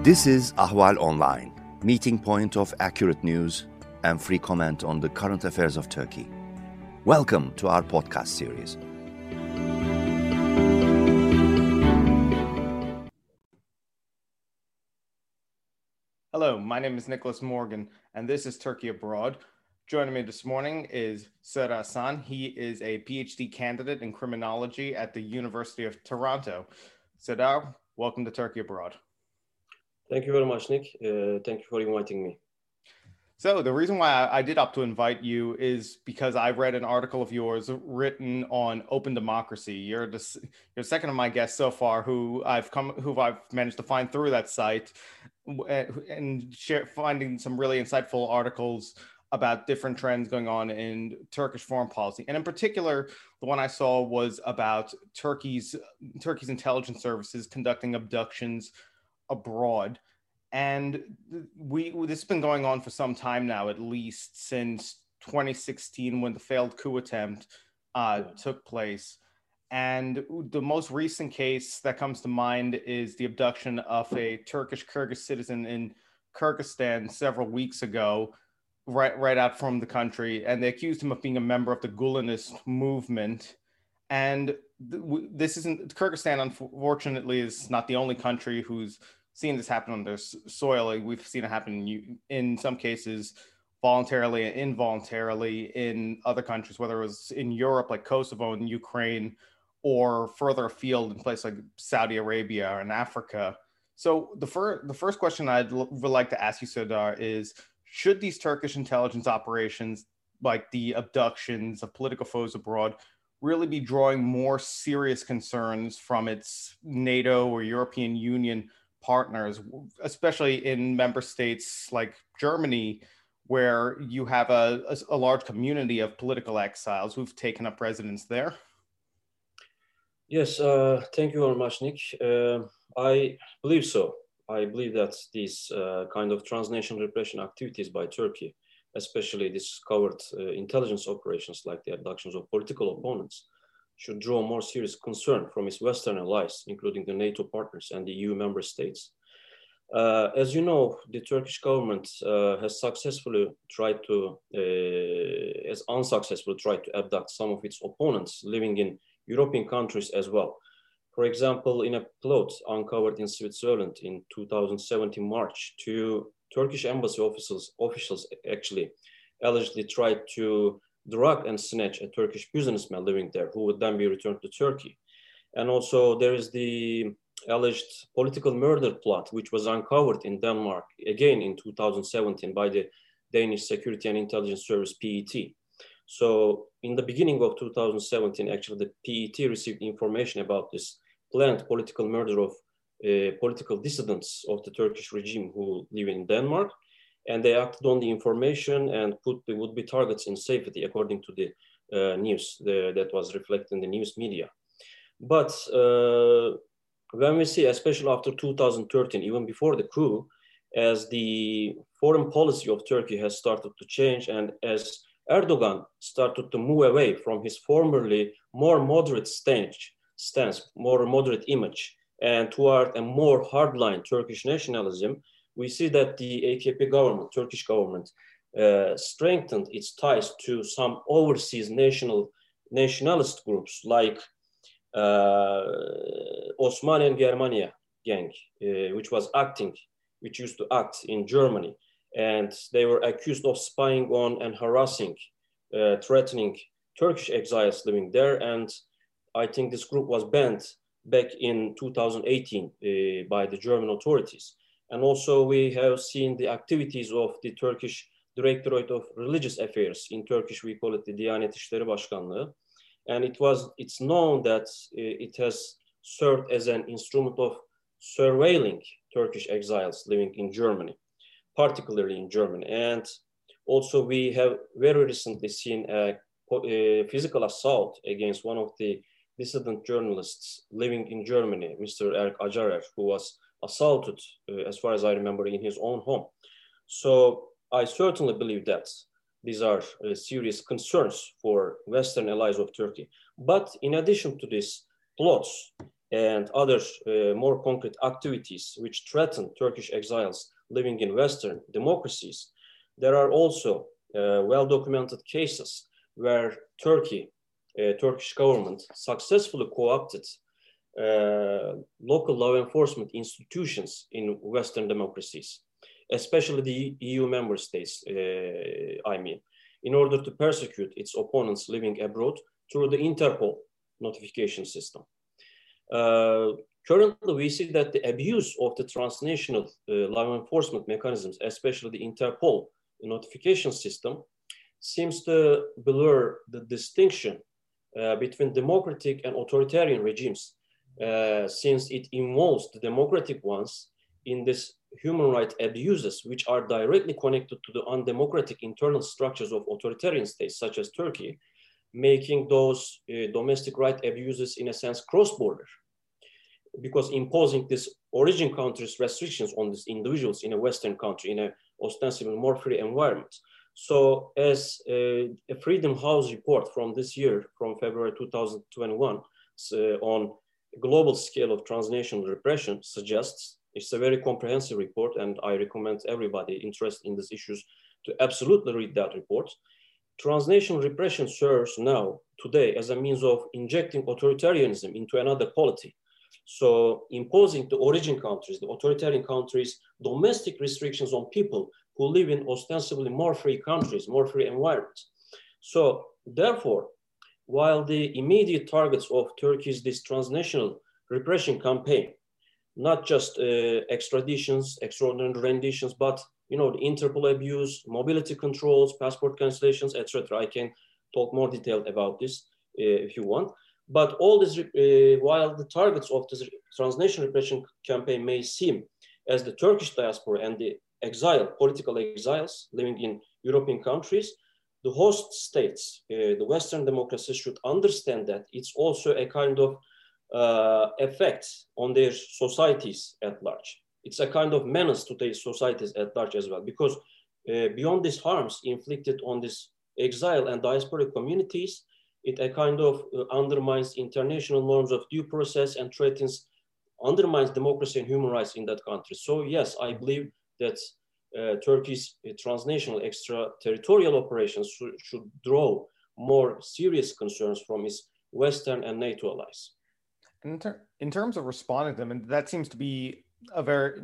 This is Ahval Online, meeting point of accurate news and free comment on the current affairs of Turkey. Welcome to our podcast series. Hello, my name is Nicholas Morgan, and this is Turkey Abroad. Joining me this morning is Serdar Hasan. He is a PhD candidate in criminology at the University of Toronto. Serdar, welcome to Turkey Abroad. Thank you very much, Nick. Thank you for inviting me. So the reason why I did opt to invite you is because I read an article of yours written on open democracy. You're second of my guests so far who I've managed to find through that site and finding some really insightful articles about different trends going on in Turkish foreign policy. And in particular, the one I saw was about Turkey's intelligence services conducting abductions abroad. And this has been going on for some time now, at least since 2016, when the failed coup attempt took place. And the most recent case that comes to mind is the abduction of a Turkish-Kyrgyz citizen in Kyrgyzstan several weeks ago, right out from the country. And they accused him of being a member of the Gulenist movement. And Kyrgyzstan, unfortunately, is not the only country who's seen this happen on their soil. We've seen it happen in some cases voluntarily and involuntarily in other countries, whether it was in Europe like Kosovo and Ukraine, or further afield in places like Saudi Arabia and Africa. So the first question would like to ask you, Serdar, is should these Turkish intelligence operations, like the abductions of political foes abroad, really be drawing more serious concerns from its NATO or European Union partners, especially in member states like Germany, where you have a large community of political exiles who've taken up residence there? Yes, thank you very much, Nick. I believe so. I believe that these kind of transnational repression activities by Turkey, especially this covert intelligence operations like the abductions of political opponents, should draw more serious concern from its Western allies, including the NATO partners and the EU member states. As you know, the Turkish government has unsuccessfully tried to abduct some of its opponents living in European countries as well. For example, in a plot uncovered in Switzerland in 2017 March, two Turkish embassy officials actually allegedly tried to drug and snatch a Turkish businessman living there who would then be returned to Turkey. And also there is the alleged political murder plot, which was uncovered in Denmark, again in 2017 by the Danish Security and Intelligence Service, PET. So in the beginning of 2017, actually the PET received information about this planned political murder of political dissidents of the Turkish regime who live in Denmark. And they acted on the information and put the would-be targets in safety, according to the news that was reflected in the news media. But when we see, especially after 2013, even before the coup, as the foreign policy of Turkey has started to change, and as Erdogan started to move away from his formerly more moderate stance, more moderate image, and toward a more hardline Turkish nationalism, we see that the AKP government, Turkish government, strengthened its ties to some overseas nationalist groups like Osmaniye and Germania gang, which used to act in Germany. And they were accused of spying on and harassing, threatening Turkish exiles living there. And I think this group was banned back in 2018 by the German authorities. And also we have seen the activities of the Turkish Directorate of Religious Affairs. In Turkish, we call it the Diyanet İşleri Başkanlığı. And it's known that it has served as an instrument of surveilling Turkish exiles living in Germany, particularly in Germany. And also we have very recently seen a physical assault against one of the dissident journalists living in Germany, Mr. Erk Acarer, who was assaulted, as far as I remember, in his own home. So I certainly believe that these are serious concerns for Western allies of Turkey. But in addition to these plots, and other more concrete activities which threaten Turkish exiles living in Western democracies, there are also well-documented cases where Turkish government successfully co-opted local law enforcement institutions in Western democracies, especially the EU member states, in order to persecute its opponents living abroad through the Interpol notification system. Currently, we see that the abuse of the transnational law enforcement mechanisms, especially the Interpol notification system, seems to blur the distinction between democratic and authoritarian regimes, since it involves the democratic ones in this human rights abuses, which are directly connected to the undemocratic internal structures of authoritarian states, such as Turkey, making those domestic right abuses, in a sense, cross-border, because imposing this origin country's restrictions on these individuals in a Western country, in a ostensibly more free environment. So as a Freedom House report from this year, from February 2021, on a global scale of transnational repression suggests, it's a very comprehensive report, and I recommend everybody interested in these issues to absolutely read that report. Transnational repression serves now, today, as a means of injecting authoritarianism into another polity. So imposing the origin countries, the authoritarian countries, domestic restrictions on people who live in ostensibly more free countries, more free environments. So therefore, while the immediate targets of Turkey's this transnational repression campaign, not just extraditions, extraordinary renditions, but the Interpol abuse, mobility controls, passport cancellations, etc. I can talk more detailed about this if you want. But all this, while the targets of this transnational repression campaign may seem as the Turkish diaspora and the political exiles living in European countries, the host states, the Western democracies, should understand that it's also a kind of effect on their societies at large. It's a kind of menace to their societies at large as well, because beyond these harms inflicted on these exile and diasporic communities, it a kind of undermines international norms of due process and undermines democracy and human rights in that country. So yes, I believe that Turkey's transnational extraterritorial operations should draw more serious concerns from its Western and NATO allies. In terms of responding to them, and that seems to be a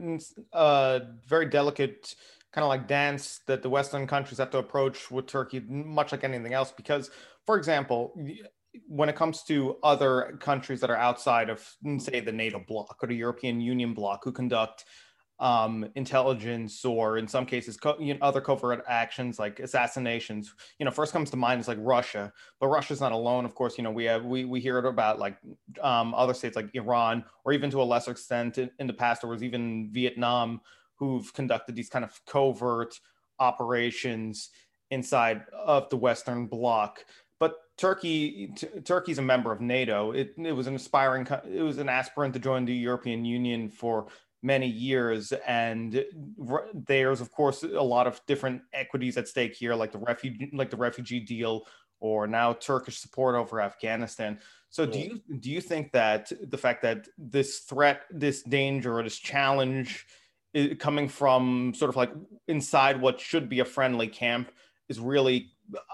very delicate kind of like dance that the Western countries have to approach with Turkey, much like anything else. Because, for example, when it comes to other countries that are outside of, say, the NATO bloc or the European Union bloc, who conduct intelligence, or in some cases other covert actions like assassinations, first comes to mind is like Russia, but Russia's not alone. Of course, we hear about like other states like Iran, or even to a lesser extent in the past there was even Vietnam, who've conducted these kind of covert operations inside of the Western bloc. But Turkey's a member of NATO. It was an aspirant to join the European Union for many years, and there's of course a lot of different equities at stake here, like the refugee deal, or now Turkish support over Afghanistan. So do you think that the fact that this threat, this danger, or this challenge coming from sort of like inside what should be a friendly camp is really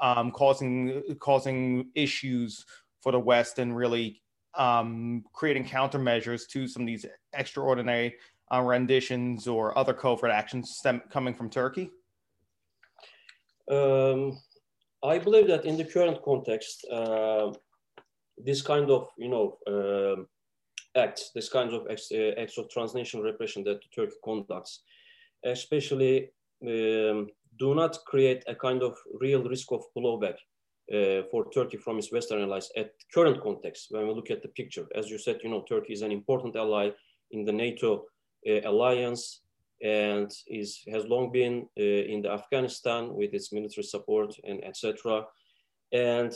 causing issues for the West, and really creating countermeasures to some of these extraordinary renditions or other covert actions coming from Turkey? I believe that in the current context, this kind of acts, this kind of acts of transnational repression that Turkey conducts, especially do not create a kind of real risk of blowback for Turkey from its Western allies at current context. When we look at the picture, as you said, Turkey is an important ally in the NATO alliance, and has long been in the Afghanistan with its military support and etc. And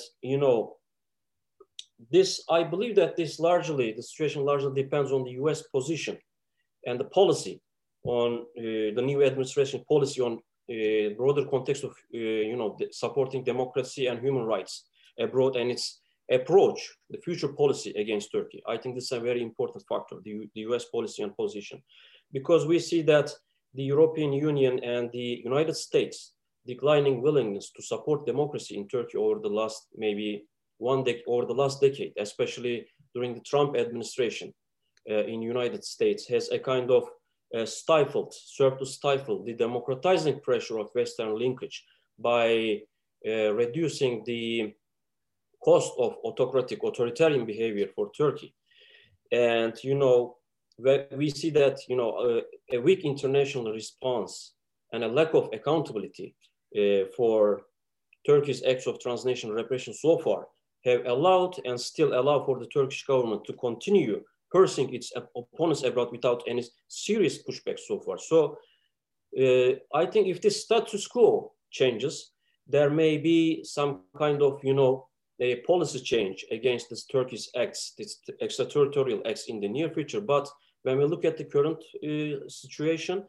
I believe that the situation largely depends on the U.S. position and the policy on the new administration policy on broader context of supporting democracy and human rights abroad, and its approach, the future policy against Turkey. I think this is a very important factor, the US policy and position, because we see that the European Union and the United States declining willingness to support democracy in Turkey over the last maybe over the last decade, especially during the Trump administration in United States, has a kind of served to stifle the democratizing pressure of Western linkage by reducing the cost of authoritarian behavior for Turkey. And, we see that, a weak international response and a lack of accountability for Turkey's acts of transnational repression so far have allowed and still allow for the Turkish government to continue cursing its opponents abroad without any serious pushback so far. So I think if this status quo changes, there may be some kind of, a policy change against this Turkish acts, this extraterritorial acts in the near future. But when we look at the current situation,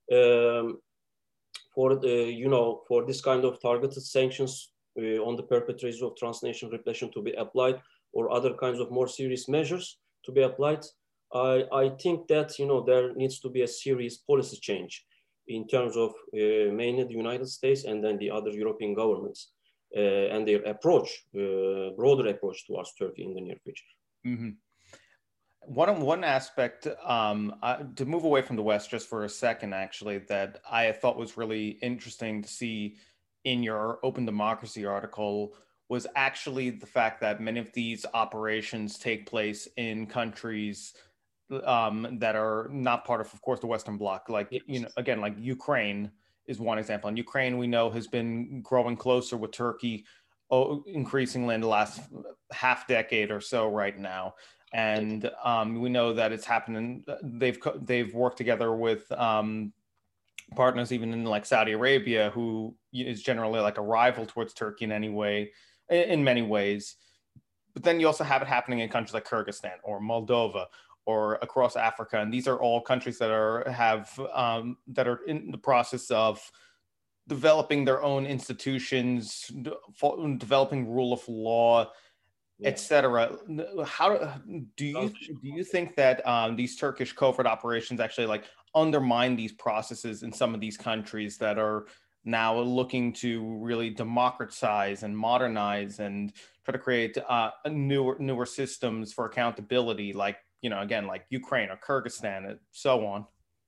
for this kind of targeted sanctions on the perpetrators of transnational repression to be applied, or other kinds of more serious measures to be applied, I think that there needs to be a serious policy change in terms of mainly the United States and then the other European governments and their approach, broader approach towards Turkey in the near future. Mm-hmm. One aspect, to move away from the West just for a second, actually, that I thought was really interesting to see in your Open Democracy article was actually the fact that many of these operations take place in countries that are not part of course, the Western Bloc. Like, yes. Again, like Ukraine is one example. And Ukraine, we know, has been growing closer with Turkey increasingly in the last half decade or so right now. And we know that it's happening. They've worked together with partners even in like Saudi Arabia, who is generally like a rival towards Turkey in many ways. But then you also have it happening in countries like Kyrgyzstan or Moldova or across Africa. And these are all countries that are in the process of developing their own institutions, developing rule of law, etc. How do you think that these Turkish covert operations actually like undermine these processes in some of these countries that are now looking to really democratize and modernize and try to create newer systems for accountability, like again, like Ukraine or Kyrgyzstan and so on?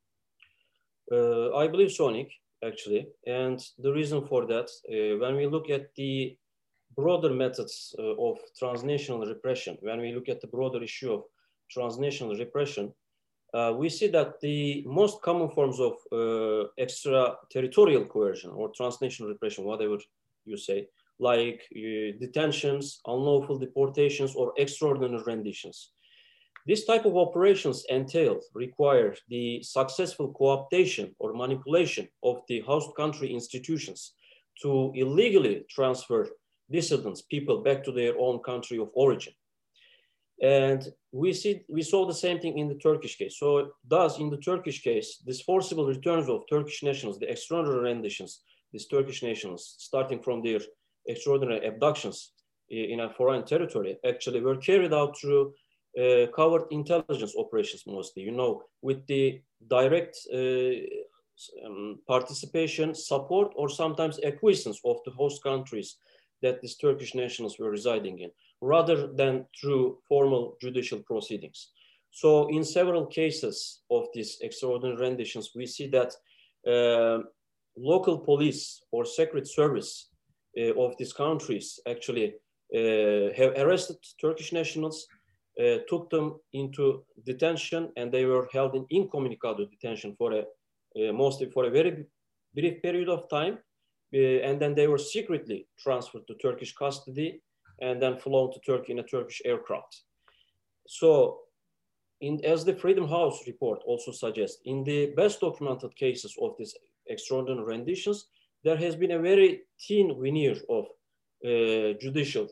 I believe so, Nick, actually, and the reason for that, when we look at the broader methods of transnational repression, when we look at the broader issue of transnational repression, we see that the most common forms of extraterritorial coercion or transnational repression, whatever you say, like detentions, unlawful deportations, or extraordinary renditions. This type of operations require the successful co-optation or manipulation of the host country institutions to illegally transfer dissidents, people, back to their own country of origin. And we saw the same thing in the Turkish case. So thus, in the Turkish case, these forcible returns of Turkish nationals, the extraordinary renditions, these Turkish nationals, starting from their extraordinary abductions in a foreign territory, actually were carried out through covert intelligence operations mostly, with the direct participation, support, or sometimes acquiescence of the host countries that these Turkish nationals were residing in, rather than through formal judicial proceedings. So in several cases of these extraordinary renditions, we see that local police or secret service of these countries actually have arrested Turkish nationals, took them into detention, and they were held in incommunicado detention for mostly for a very brief period of time. And then they were secretly transferred to Turkish custody and then flown to Turkey in a Turkish aircraft. So, as the Freedom House report also suggests, in the best documented cases of these extraordinary renditions, there has been a very thin veneer of judicial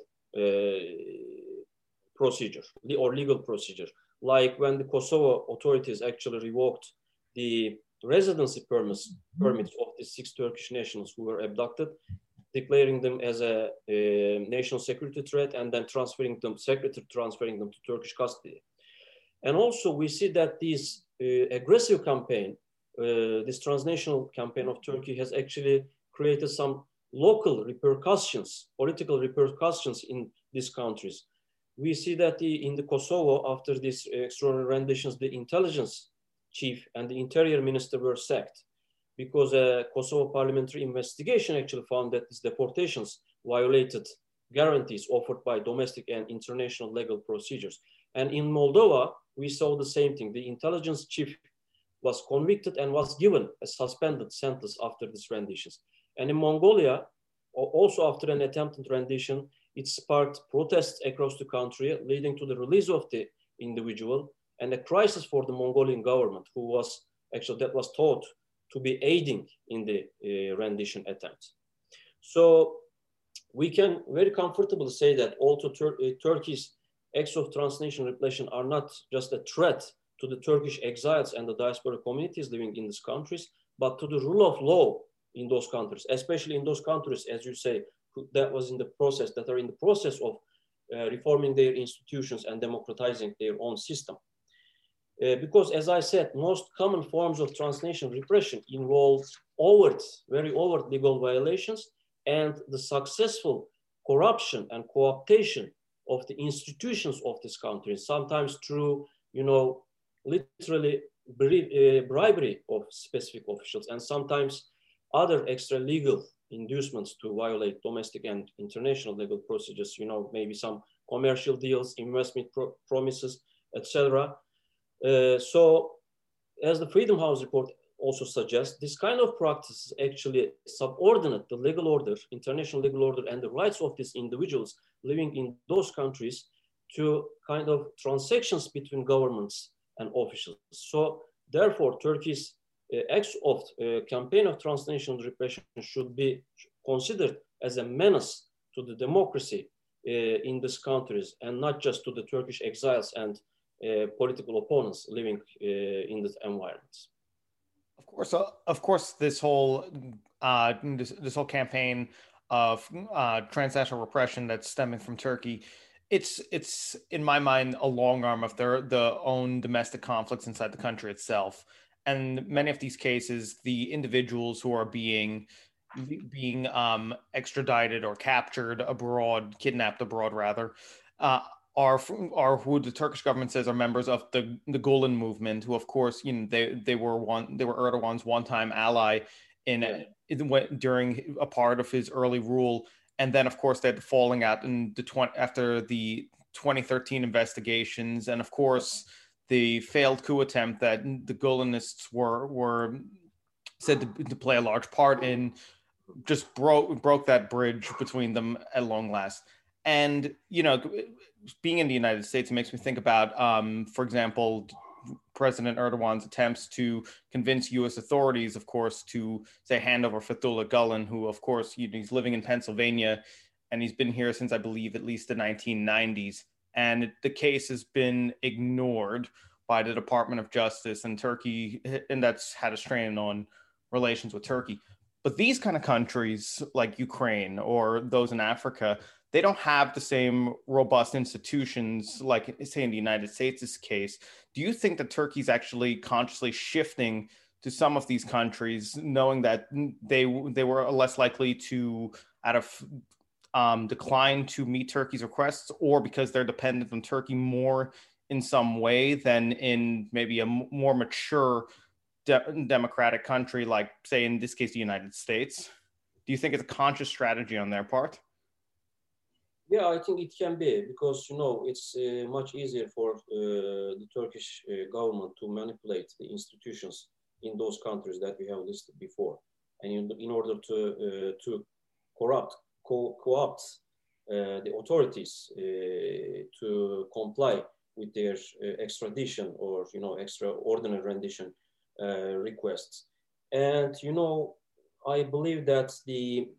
procedure or legal procedure, like when the Kosovo authorities actually revoked the residency permits of the 6 Turkish nationals who were abducted. declaring them as a national security threat, and then transferring them to Turkish custody. And also we see that this aggressive campaign, this transnational campaign of Turkey has actually created some local repercussions, political repercussions in these countries. We see that in the Kosovo, after these extraordinary renditions, the intelligence chief and the interior minister were sacked because a Kosovo parliamentary investigation actually found that these deportations violated guarantees offered by domestic and international legal procedures. And in Moldova, we saw the same thing. The intelligence chief was convicted and was given a suspended sentence after these renditions. And in Mongolia, also after an attempted rendition, it sparked protests across the country, leading to the release of the individual and a crisis for the Mongolian government, who was actually, that was thought to be aiding in the rendition attempt. So we can very comfortably say that also Turkey's acts of transnational repression are not just a threat to the Turkish exiles and the diaspora communities living in these countries, but to the rule of law in those countries, especially in those countries, as you say, that are in the process of reforming their institutions and democratizing their own system. Because as I said, most common forms of transnational repression involve very overt legal violations and the successful corruption and co-optation of the institutions of this country, sometimes through, literally bribery of specific officials, and sometimes other extra legal inducements to violate domestic and international legal procedures, maybe some commercial deals, investment promises, etc. So as the Freedom House report also suggests, this kind of practice actually subordinate the legal order, international legal order, and the rights of these individuals living in those countries to kind of transactions between governments and officials. So therefore, Turkey's acts of campaign of transnational repression should be considered as a menace to the democracy in these countries, and not just to the Turkish exiles and political opponents living in these environments. Of course, this whole campaign of transnational repression that's stemming from Turkey, it's in my mind a long arm of their own domestic conflicts inside the country itself. And many of these cases, the individuals who are being extradited or captured abroad, kidnapped abroad rather, are who the Turkish government says are members of the Gulen movement, who of course they were Erdogan's one-time ally during a part of his early rule, and then of course they had the falling out in after the 2013 investigations, and of course the failed coup attempt that the Gulenists were said to play a large part in, just broke that bridge between them at long last. And being in the United States, it makes me think about, for example, President Erdogan's attempts to convince U.S. authorities, of course, to say hand over Fethullah Gulen, who, of course, he's living in Pennsylvania, and he's been here since, I believe, at least the 1990s. And the case has been ignored by the Department of Justice and Turkey, and that's had a strain on relations with Turkey. But these kind of countries like Ukraine or those in Africa, they don't have the same robust institutions like, say, in the United States' case. Do you think that Turkey's actually consciously shifting to some of these countries, knowing that they were less likely to, out of decline to meet Turkey's requests, or because they're dependent on Turkey more in some way than in maybe a more mature democratic country like, say, in this case, the United States? Do you think it's a conscious strategy on their part? Yeah, I think it can be, because it's much easier for the Turkish government to manipulate the institutions in those countries that we have listed before, and in order to co-opt the authorities to comply with their extradition or extraordinary rendition requests. And I believe that the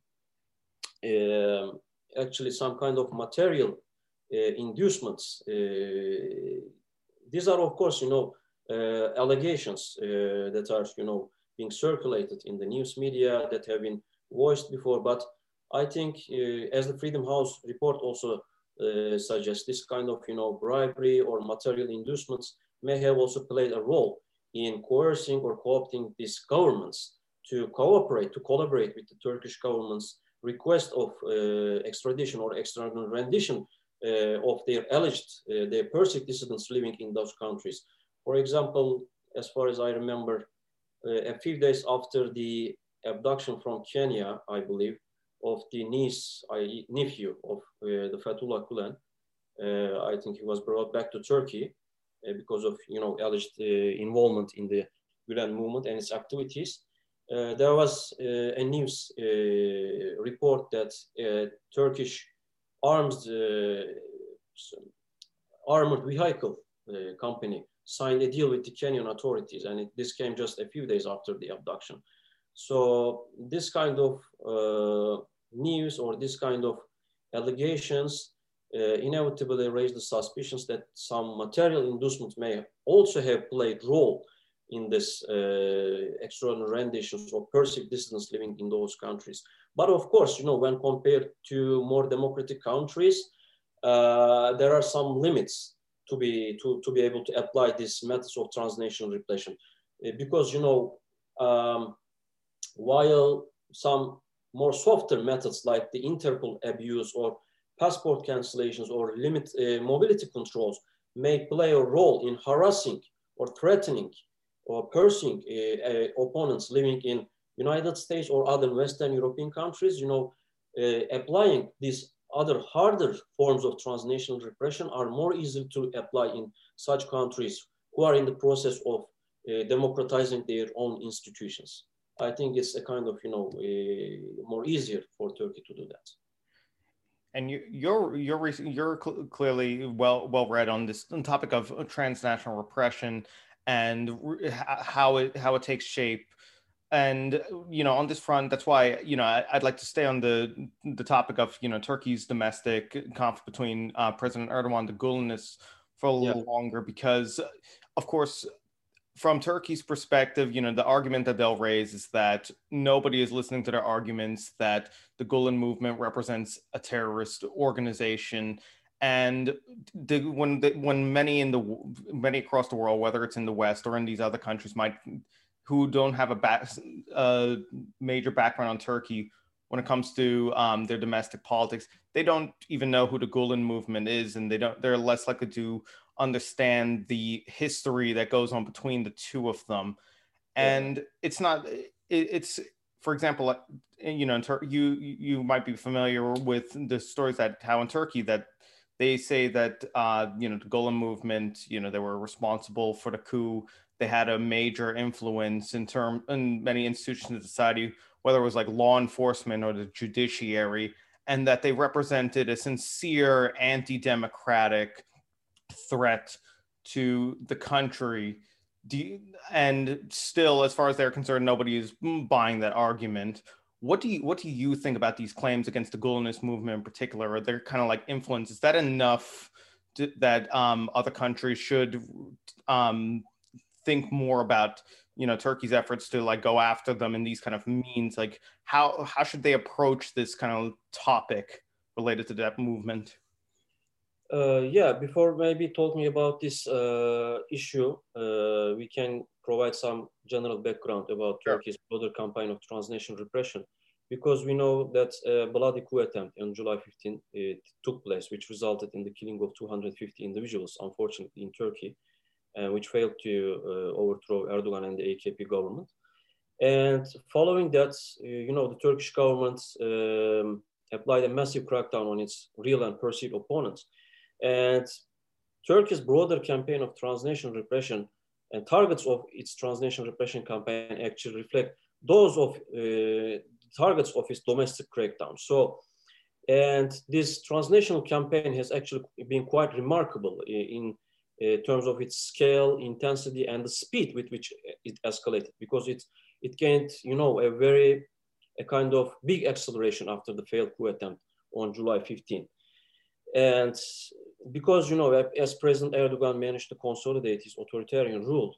actually some kind of material inducements. These are, of course, allegations that are, being circulated in the news media that have been voiced before. But I think, as the Freedom House report also suggests, this kind of, bribery or material inducements may have also played a role in coercing or co-opting these governments to cooperate, to collaborate with the Turkish government's request of extradition or external rendition of their alleged, their persecuted dissidents living in those countries. For example, as far as I remember, a few days after the abduction from Kenya, I believe, of the nephew of the Fethullah Gulen, I think he was brought back to Turkey because of alleged involvement in the Gulen movement and its activities. There was a news report that a Turkish armored vehicle company signed a deal with the Kenyan authorities, and this came just a few days after the abduction. So this kind of news or this kind of allegations inevitably raise the suspicions that some material inducement may also have played role in this extraordinary renditions of perceived dissidents living in those countries. But of course, when compared to more democratic countries, there are some limits to be able to apply these methods of transnational repression, because while some more softer methods like the Interpol abuse or passport cancellations or limit mobility controls may play a role in harassing or threatening or pursuing opponents living in United States or other Western European countries, applying these other harder forms of transnational repression are more easy to apply in such countries who are in the process of democratizing their own institutions. I think it's a kind of, more easier for Turkey to do that. And you're clearly well read on this topic of transnational repression and how it takes shape. And on this front, that's why I'd like to stay on the topic of Turkey's domestic conflict between President Erdogan and the Gulenists for a little longer, because of course, from Turkey's perspective, the argument that they'll raise is that nobody is listening to their arguments, that the Gulen movement represents a terrorist organization. And when many across the world, whether it's in the West or in these other countries, who don't have a major background on Turkey when it comes to their domestic politics, they don't even know who the Gulen movement is, and they're less likely to understand the history that goes on between the two of them. And it's for example, you might be familiar with the stories that how in Turkey that they say that the Gulen movement, they were responsible for the coup. They had a major influence in many institutions of society, whether it was like law enforcement or the judiciary, and that they represented a sincere anti-democratic threat to the country. And still, as far as they're concerned, nobody is buying that argument. What do you think about these claims against the Gulenist movement in particular, or their kind of like influence? Is that enough that other countries should think more about Turkey's efforts to like go after them in these kind of means? Like how should they approach this kind of topic related to that movement? Before maybe talking about this issue, we can provide some general background about Turkey's broader campaign of transnational repression, because we know that a bloody coup attempt on July 15 took place, which resulted in the killing of 250 individuals, unfortunately, in Turkey, which failed to overthrow Erdogan and the AKP government. And following that, the Turkish government applied a massive crackdown on its real and perceived opponents. And Turkey's broader campaign of transnational repression and targets of its transnational repression campaign actually reflect those of targets of its domestic crackdown. So, and this transnational campaign has actually been quite remarkable in terms of its scale, intensity, and the speed with which it escalated, because it gained, a kind of big acceleration after the failed coup attempt on July 15. And because, as President Erdogan managed to consolidate his authoritarian rule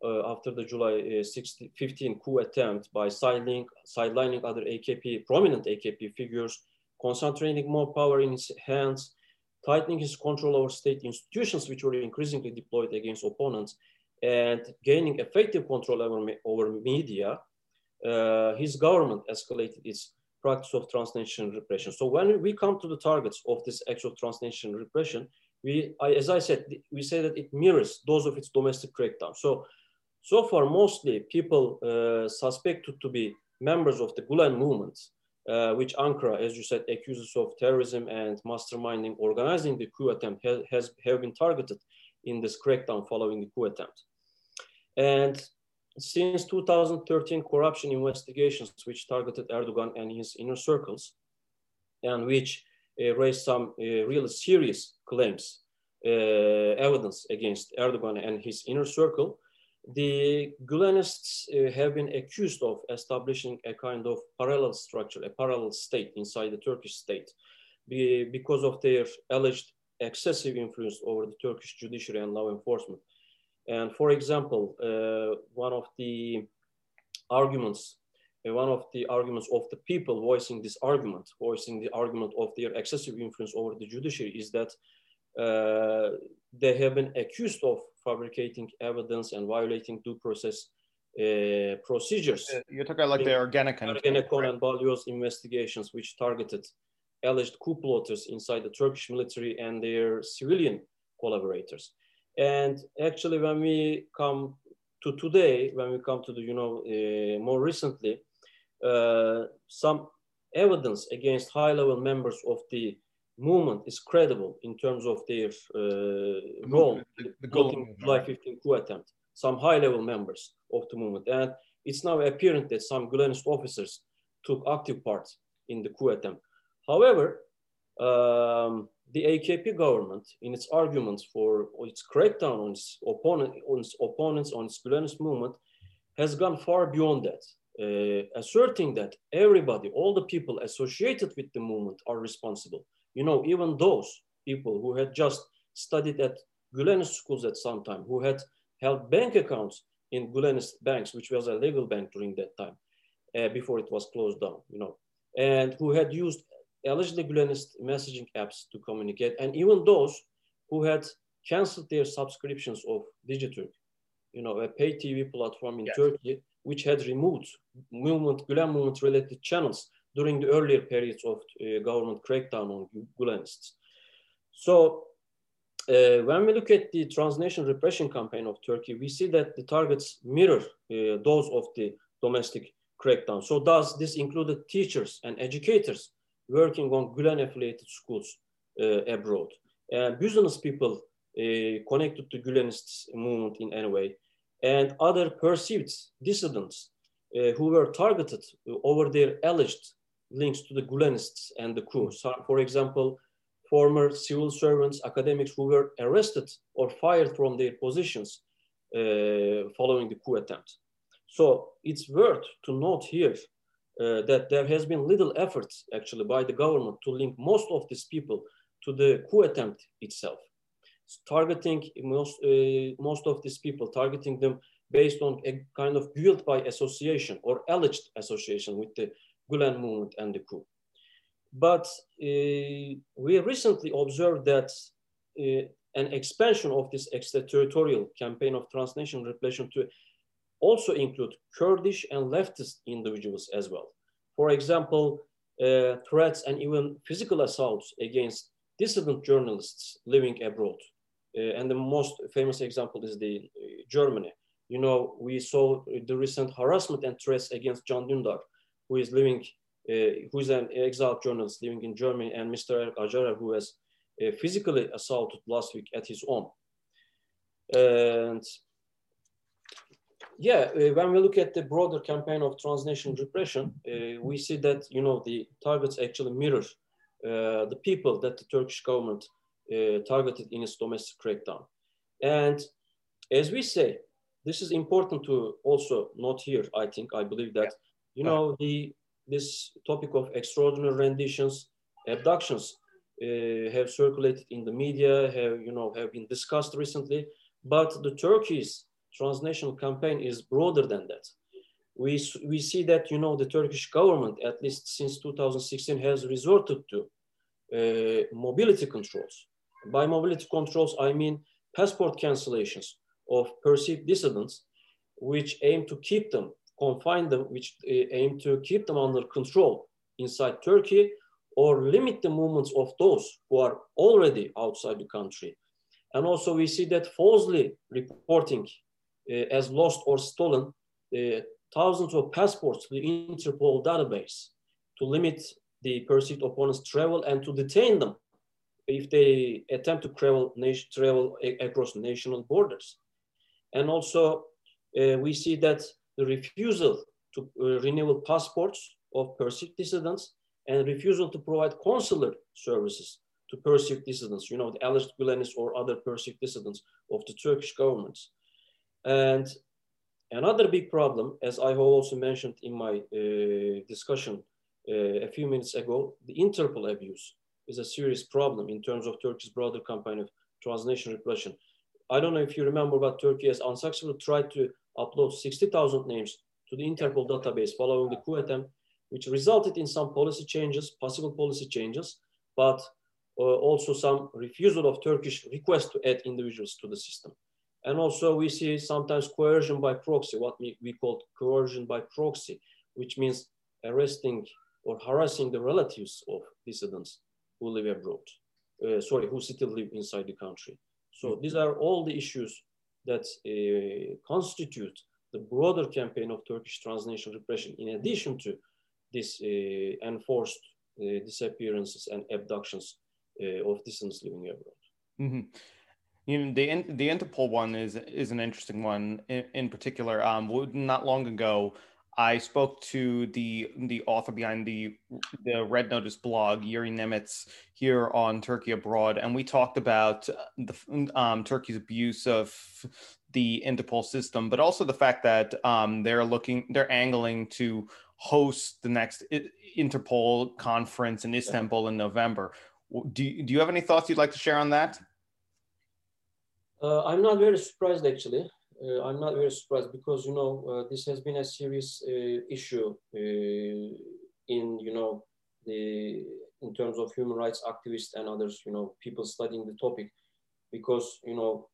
after the July 15 coup attempt by sidelining other prominent AKP figures, concentrating more power in his hands, tightening his control over state institutions, which were increasingly deployed against opponents, and gaining effective control over media, his government escalated its practice of transnational repression. So when we come to the targets of this act of transnational repression, as I said, we say that it mirrors those of its domestic crackdown. So far, mostly people suspected to be members of the Gulen movement, which Ankara, as you said, accuses of terrorism and masterminding, organizing the coup attempt, have been targeted in this crackdown following the coup attempt. And since 2013, corruption investigations, which targeted Erdogan and his inner circles, and which raised some really serious claims, evidence against Erdogan and his inner circle, the Gülenists have been accused of establishing a kind of parallel structure, a parallel state inside the Turkish state, because of their alleged excessive influence over the Turkish judiciary and law enforcement. And for example, one of the arguments of the people voicing the argument of their excessive influence over the judiciary is that they have been accused of fabricating evidence and violating due process procedures. You're talking like the Ergenekon and Balyoz investigations, which targeted alleged coup plotters inside the Turkish military and their civilian collaborators. And actually, when we come to today, more recently, some evidence against high-level members of the movement is credible in terms of their role in the July 15 coup attempt. Some high-level members of the movement, and it's now apparent that some Gülenist officers took active part in the coup attempt. However, the AKP government, in its arguments for its crackdown on its opponents, on its Gülenist movement, has gone far beyond that, asserting that everybody, all the people associated with the movement are responsible. Even those people who had just studied at Gülenist schools at some time, who had held bank accounts in Gülenist banks, which was a legal bank during that time, before it was closed down, and who had used allegedly Gülenist messaging apps to communicate, and even those who had canceled their subscriptions of Digiturk, a pay TV platform in Turkey, which had removed Gülen movement-related channels during the earlier periods of government crackdown on Gülenists. So when we look at the transnational repression campaign of Turkey, we see that the targets mirror those of the domestic crackdown. So does this include teachers and educators working on Gülen-affiliated schools abroad, business people connected to Gülenist movement in any way, and other perceived dissidents who were targeted over their alleged links to the Gülenists and the coup. So, for example, former civil servants, academics who were arrested or fired from their positions following the coup attempt. So it's worth to note here that there has been little effort actually by the government to link most of these people to the coup attempt itself. Targeting most of these people, targeting them based on a kind of guilt by association or alleged association with the Gülen movement and the coup. But we recently observed that an expansion of this extraterritorial campaign of transnational repression to also include Kurdish and leftist individuals as well. For example, threats and even physical assaults against dissident journalists living abroad. And the most famous example is Germany. We saw the recent harassment and threats against Can Dündar, who is an exiled journalist living in Germany, and Mr. Acar, who was physically assaulted last week at his home. And when we look at the broader campaign of transnational repression, we see that, the targets actually mirror the people that the Turkish government targeted in its domestic crackdown. And as we say, this is important to also note here, I believe that, this topic of extraordinary renditions, abductions have circulated in the media, have been discussed recently, but the Turkey's transnational campaign is broader than that. We see that, you know, the Turkish government, at least since 2016, has resorted to mobility controls. By mobility controls, I mean passport cancellations of perceived dissidents, which aim to keep them, confine them, which aim to keep them under control inside Turkey, or limit the movements of those who are already outside the country. And also we see that falsely reporting as lost or stolen thousands of passports to the Interpol database to limit the perceived opponents' travel and to detain them if they attempt to travel across national borders. And also we see that the refusal to renew passports of perceived dissidents and refusal to provide consular services to perceived dissidents, you know, the alleged Gülenists or other perceived dissidents of the Turkish governments. And another big problem, as I have also mentioned in my discussion a few minutes ago, the Interpol abuse is a serious problem in terms of Turkey's broader campaign of transnational repression. I don't know if you remember, but Turkey has unsuccessfully tried to upload 60,000 names to the Interpol database following the coup attempt, which resulted in some policy changes, possible policy changes, but also some refusal of Turkish requests to add individuals to the system. And also we see sometimes coercion by proxy, what we call coercion by proxy, which means arresting or harassing the relatives of dissidents who live abroad, who still live inside the country. So these are all the issues that constitute the broader campaign of Turkish transnational repression, in addition to this enforced disappearances and abductions of dissidents living abroad. Mm-hmm. You know, the Interpol one is an interesting one in particular. Not long ago, I spoke to the author behind the Red Notice blog, Yuri Nemitz, here on Turkey Abroad, and we talked about Turkey's abuse of the Interpol system, but also the fact that they're angling to host the next Interpol conference in Istanbul in November. Do you have any thoughts you'd like to share on that? I'm not very surprised, actually. I'm not very surprised because, you know, this has been a serious issue in, you know, in terms of human rights activists and others, you know, people studying the topic, because, you know,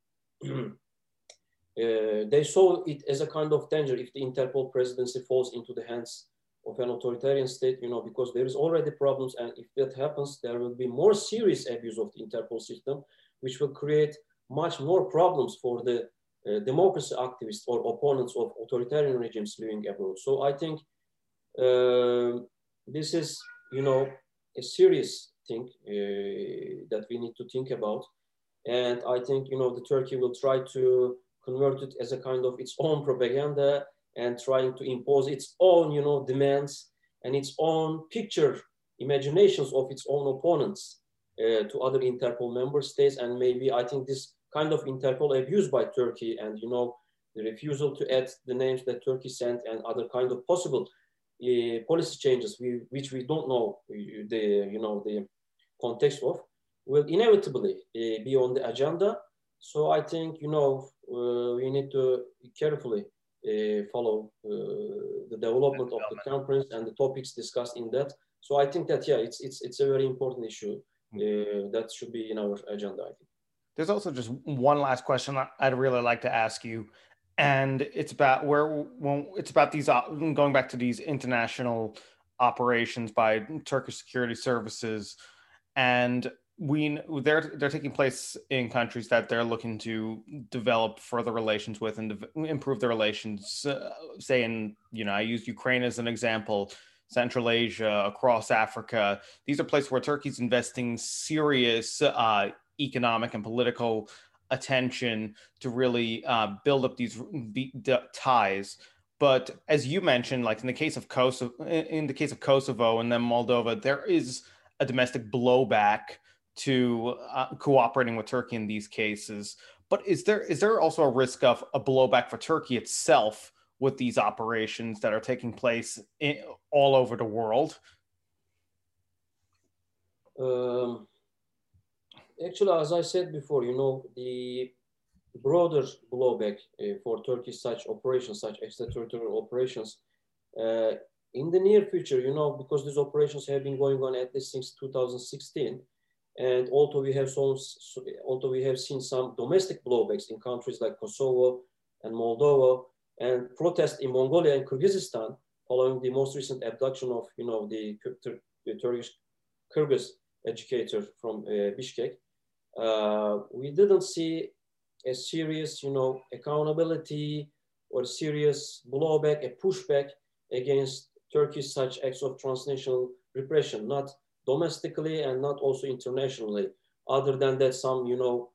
they saw it as a kind of danger if the Interpol presidency falls into the hands of an authoritarian state, you know, because there is already problems, and if that happens, there will be more serious abuse of the Interpol system, which will create much more problems for the democracy activists or opponents of authoritarian regimes living abroad. So I think this is, you know, a serious thing that we need to think about. And I think, you know, the Turkey will try to convert it as a kind of its own propaganda and trying to impose its own, you know, demands and its own picture imaginations of its own opponents to other Interpol member states. And maybe I think this kind of Interpol abuse by Turkey and, you know, the refusal to add the names that Turkey sent and other kind of possible policy changes, which we don't know the context of, will inevitably be on the agenda. So I think, you know, we need to carefully follow the development of the conference and the topics discussed in that. So I think that, yeah, it's a very important issue that should be in our agenda, I think. There's also just one last question I'd really like to ask you, and it's about these going back to these international operations by Turkish security services, and they're taking place in countries that they're looking to develop further relations with and improve the relations. Say in, you know, I used Ukraine as an example, Central Asia, across Africa. These are places where Turkey's investing serious economic and political attention to really build up these ties. But as you mentioned, like in the case of Kosovo and then Moldova, there is a domestic blowback to cooperating with Turkey in these cases. But is there also a risk of a blowback for Turkey itself with these operations that are taking place all over the world? Actually, as I said before, you know, the broader blowback for Turkey's such operations, such extraterritorial operations, in the near future, you know, because these operations have been going on at least since 2016, and although we have seen some domestic blowbacks in countries like Kosovo and Moldova, and protests in Mongolia and Kyrgyzstan following the most recent abduction of, you know, the Turkish Kyrgyz educator from Bishkek, we didn't see a serious, you know, accountability or serious blowback, a pushback against Turkey's such acts of transnational repression, not domestically and not also internationally. Other than that, some, you know,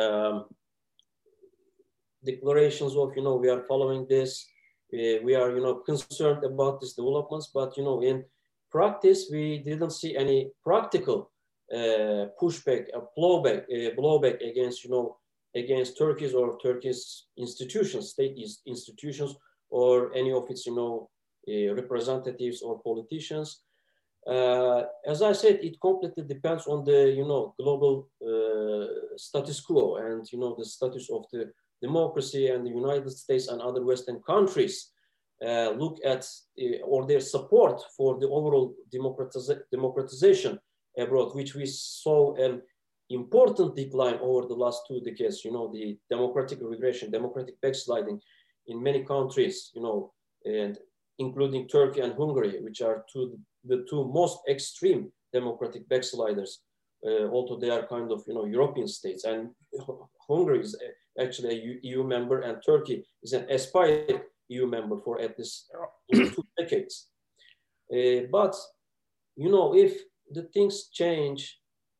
declarations of, you know, we are following this, we are, you know, concerned about these developments, but, you know, in practice, we didn't see any practical pushback, blowback against, you know, against Turkey's or Turkey's institutions, state institutions, or any of its, you know, representatives or politicians. As I said, it completely depends on the, you know, global status quo and, you know, the status of the democracy, and the United States and other Western countries look at or their support for the overall democratization abroad, which we saw an important decline over the last 2 decades, you know, the democratic regression, democratic backsliding in many countries, you know, and including Turkey and Hungary, which are the two most extreme democratic backsliders, although they are kind of, you know, European states. And Hungary is actually a EU member, and Turkey is an aspired EU member for at least 2 decades. But, you know, if the things change,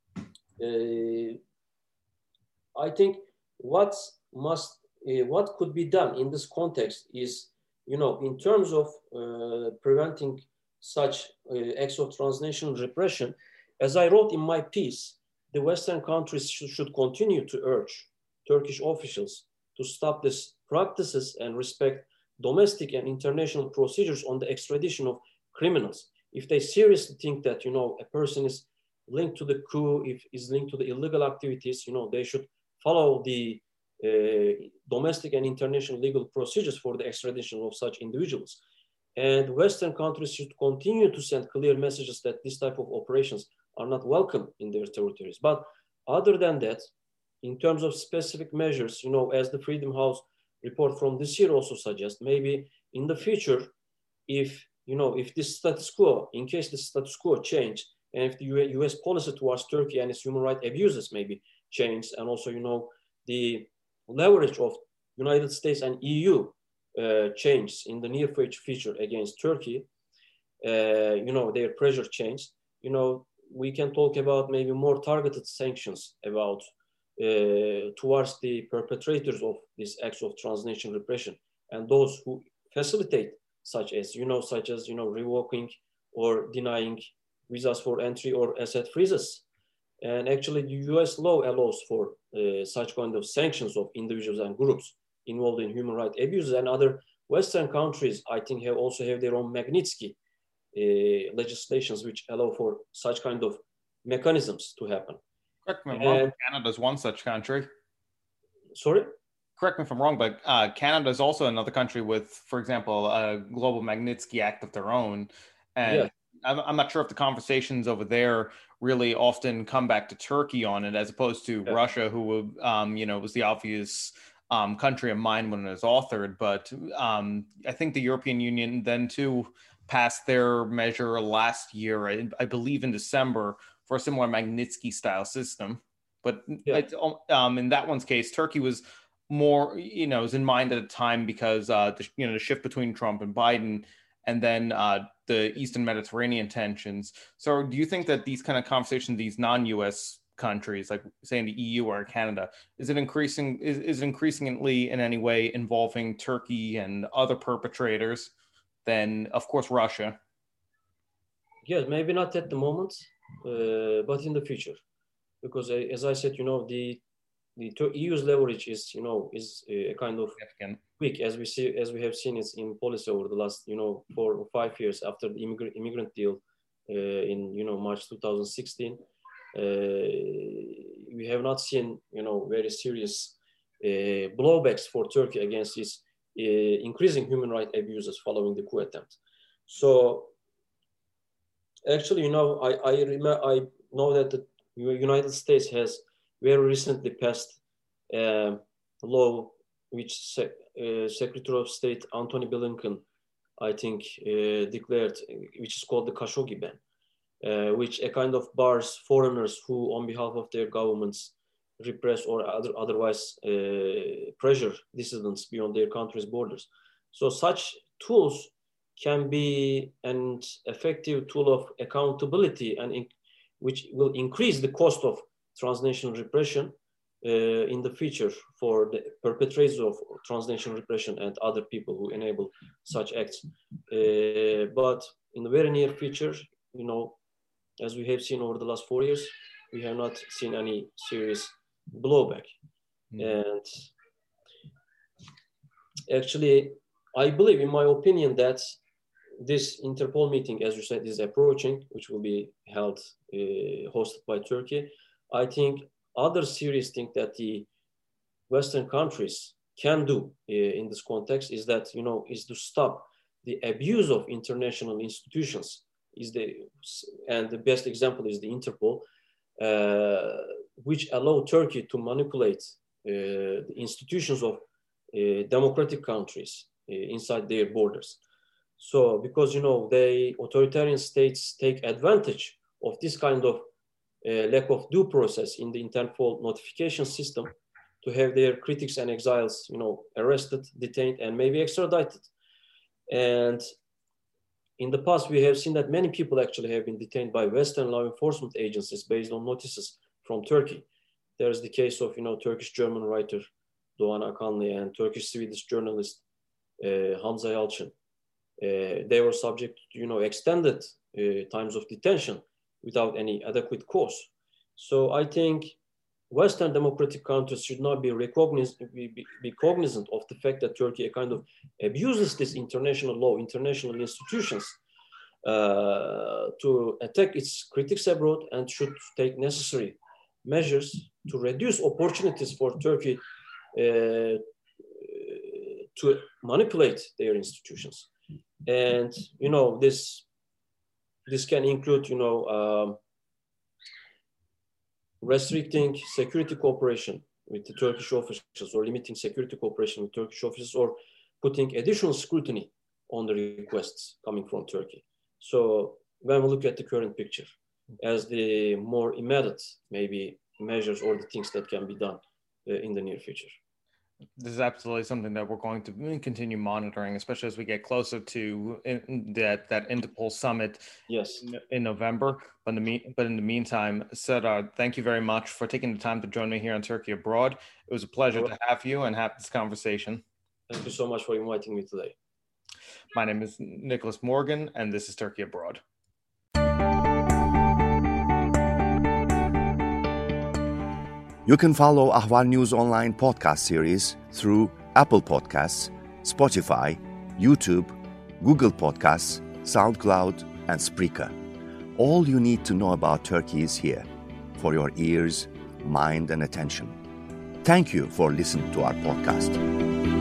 I think what could be done in this context is, you know, in terms of preventing such acts of transnational repression, as I wrote in my piece, the Western countries should continue to urge Turkish officials to stop these practices and respect domestic and international procedures on the extradition of criminals. If they seriously think that, you know, a person is linked to the coup, if is linked to the illegal activities, you know, they should follow the domestic and international legal procedures for the extradition of such individuals. And Western countries should continue to send clear messages that this type of operations are not welcome in their territories. But other than that, in terms of specific measures, you know, as the Freedom House report from this year also suggests, maybe in the future, if, you know, if this status quo, in case the status quo change, and if the US policy towards Turkey and its human rights abuses maybe change, and also, you know, the leverage of United States and EU change in the near future against Turkey, you know, their pressure change, you know, we can talk about maybe more targeted sanctions about towards the perpetrators of these acts of transnational repression and those who facilitate such as, you know, revoking or denying visas for entry or asset freezes. And actually the US law allows for such kind of sanctions of individuals and groups involved in human rights abuses, and other Western countries, I think, also have their own Magnitsky legislations which allow for such kind of mechanisms to happen. Correct me if I'm wrong, Canada's one such country. Sorry? Correct me if I'm wrong, but Canada is also another country with, for example, a global Magnitsky Act of their own. And yeah. I'm not sure if the conversations over there really often come back to Turkey on it, as opposed to Russia, who, you know, was the obvious country of mind when it was authored. But I think the European Union then too passed their measure last year, I believe in December, for a similar Magnitsky style system. But in that one's case, Turkey was more, you know, was in mind at the time because the shift between Trump and Biden, and then the Eastern Mediterranean tensions. So do you think that these kind of conversations, these non-US countries, like say in the EU or Canada, is it increasingly in any way involving Turkey and other perpetrators than, of course, Russia? Yes, maybe not at the moment, but in the future. Because as I said, you know, the EU's leverage is, you know, is a kind of weak, as we have seen it in policy over the last, you know, 4 or 5 years after the immigrant deal in, you know, March 2016. We have not seen, you know, very serious blowbacks for Turkey against its increasing human rights abuses following the coup attempt. So actually, I know that the United States has very recently passed a law which Secretary of State Antony Blinken, I think, declared, which is called the Khashoggi ban, which a kind of bars foreigners who, on behalf of their governments, repress or otherwise pressure dissidents beyond their country's borders. So such tools can be an effective tool of accountability and which will increase the cost of transnational repression in the future for the perpetrators of transnational repression and other people who enable such acts. But in the very near future, as we have seen over the last 4 years, we have not seen any serious blowback. And actually, I believe, in my opinion, that this Interpol meeting, as you said, is approaching, which will be held, hosted by Turkey. I think other serious thing that the Western countries can do in this context is that, is to stop the abuse of international institutions. And the best example is the Interpol, which allow Turkey to manipulate the institutions of democratic countries inside their borders. So because, the authoritarian states take advantage of this kind of lack of due process in the Interpol notification system to have their critics and exiles, arrested, detained, and maybe extradited. And in the past, we have seen that many people actually have been detained by Western law enforcement agencies based on notices from Turkey. There's the case of, Turkish-German writer Doğan Akanlı and Turkish-Swedish journalist Hamza Yalçın. They were subject to, extended times of detention without any adequate cause. So I think Western democratic countries should not be cognizant of the fact that Turkey kind of abuses this international law, international institutions to attack its critics abroad, and should take necessary measures to reduce opportunities for Turkey to manipulate their institutions. And, this can include, restricting security cooperation with the Turkish officials, or limiting security cooperation with Turkish officials, or putting additional scrutiny on the requests coming from Turkey. So when we look at the current picture as the more immediate, maybe, measures or the things that can be done in the near future. This is absolutely something that we're going to continue monitoring, especially as we get closer to that Interpol summit in November. But in the meantime, Serdar, thank you very much for taking the time to join me here on Turkey Abroad. It was a pleasure to have you and have this conversation. Thank you so much for inviting me today. My name is Nicholas Morgan, and this is Turkey Abroad. You can follow Ahval News Online podcast series through Apple Podcasts, Spotify, YouTube, Google Podcasts, SoundCloud, and Spreaker. All you need to know about Turkey is here, for your ears, mind, and attention. Thank you for listening to our podcast.